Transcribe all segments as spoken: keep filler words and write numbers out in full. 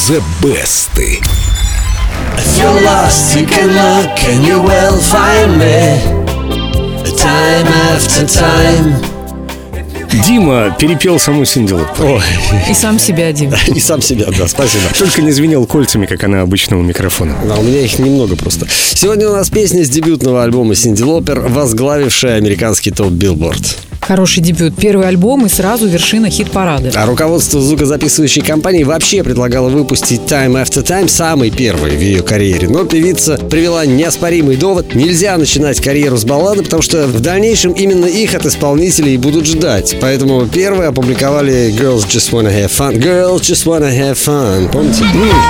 The Best. If you're lost, you can look and you will find me. Time after time. Дима перепел саму Синди Лопер. Ой, И сам себя, Дим. и сам себя, да, спасибо. Только не звенел кольцами, как она обычно у микрофона. Да, у меня их немного просто. Сегодня у нас песня с дебютного альбома Синди Лопер, возглавившая американский топ Billboard. Хороший дебют. Первый альбом и сразу вершина хит-парада. А руководство звукозаписывающей компании вообще предлагало выпустить Time After Time, самый первый в ее карьере. Но певица привела неоспоримый довод: нельзя начинать карьеру с баллады, потому что в дальнейшем именно их от исполнителей будут ждать. Поэтому первые опубликовали Girls Just Wanna Have Fun. Girls Just Wanna Have Fun. Помните?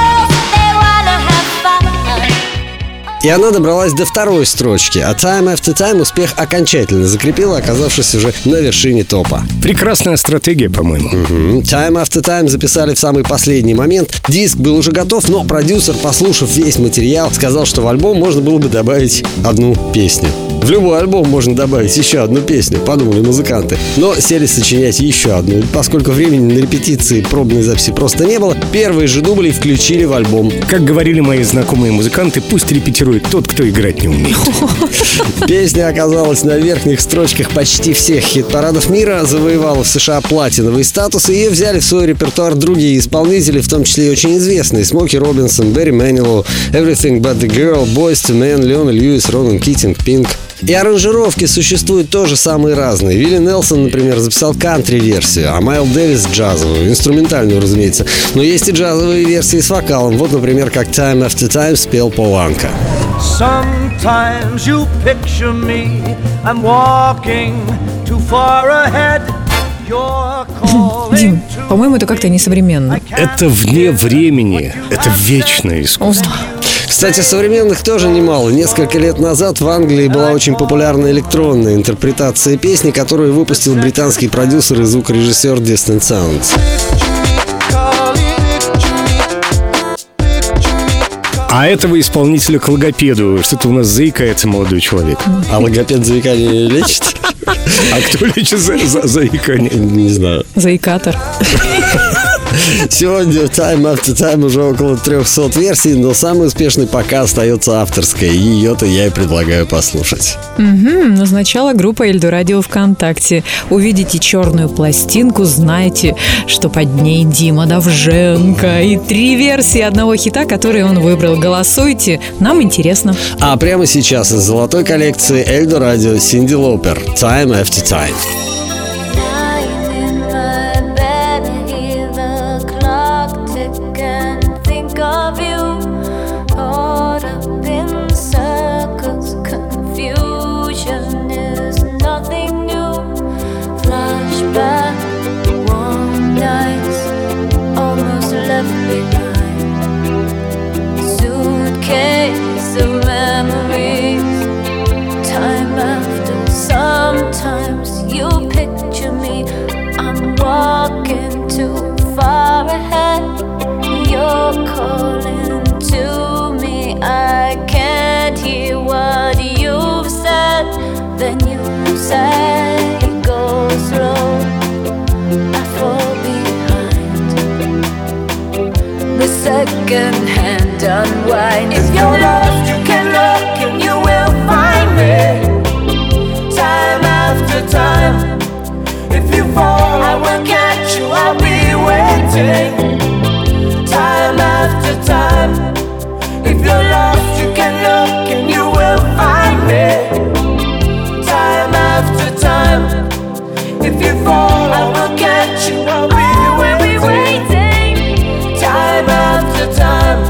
И она добралась до второй строчки, а Time After Time успех окончательно закрепила, оказавшись уже на вершине топа. Прекрасная стратегия, по-моему. Угу. Time After Time записали в самый последний момент. Диск был уже готов, но продюсер, послушав весь материал, сказал, что в альбом можно было бы добавить одну песню. В любой альбом можно добавить еще одну песню, подумали музыканты. Но сели сочинять еще одну. Поскольку времени на репетиции пробной записи просто не было, первые же дубли включили в альбом. Как говорили мои знакомые музыканты, пусть репетирует тот, кто играть не умеет. Песня оказалась на верхних строчках почти всех хит-парадов мира, завоевала в США платиновый статус, и ее взяли в свой репертуар другие исполнители, в том числе и очень известные: Смоки Робинсон, Берри Манилоу, Everything But The Girl, Boyz two Men, Леона Льюис, Ронан Китинг, Пинк. И аранжировки существуют тоже самые разные. Вилли Нелсон, например, записал кантри-версию, а Майл Дэвис — джазовую, инструментальную, разумеется. Но есть и джазовые версии с вокалом. Вот, например, как Time After Time спел Пол Анка. Sometimes you picture me, I'm walking too far ahead. Дим, по-моему, это как-то несовременно. Это вне времени. Это вечное искусство. Кстати, современных тоже немало. Несколько лет назад в Англии была очень популярна электронная интерпретация песни, которую выпустил британский продюсер и звукорежиссер Distant Sounds. А этого исполнителя к логопеду. Что-то у нас заикается молодой человек. А логопед заикание лечит? А кто лечит за, за, заикание? Не знаю. Заикатор. Сегодня Time After Time уже около трехсот версий, но самый успешный пока остается авторская. Ее-то я и предлагаю послушать. Угу, назначала группа Эльдорадио ВКонтакте. Увидите черную пластинку, знайте, что под ней Дима Довженко. И три версии одного хита, который он выбрал. Голосуйте, нам интересно. А прямо сейчас из золотой коллекции Эльдорадио Синди Лопер Time After Time. Sometimes you picture me, I'm walking too far ahead. You're calling to me, I can't hear what you've said. Then you say, go slow, I fall behind. The second hand unwind. If you're lost, you can look and you will find me. Time after time. If you fall, I will catch you, I'll be waiting. Time after time. If you're lost, you can look and you will find me. Time after time. If you fall, I will catch you, I'll be waiting. Time after time.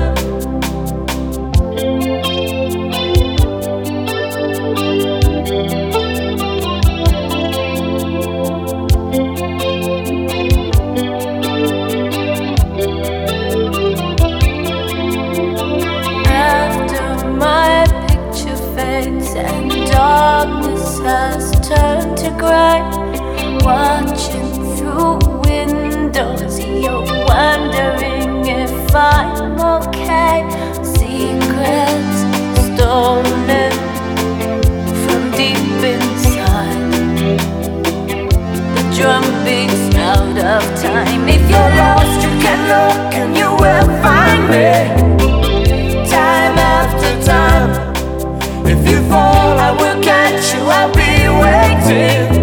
And darkness has turned to grey. Watching through windows, you're wondering if I'm okay. Secrets stolen from deep inside. The drum beats out of time. If you're lost, you can can look and you will find me. Time after time. If you fall, I will catch you, I'll be waiting.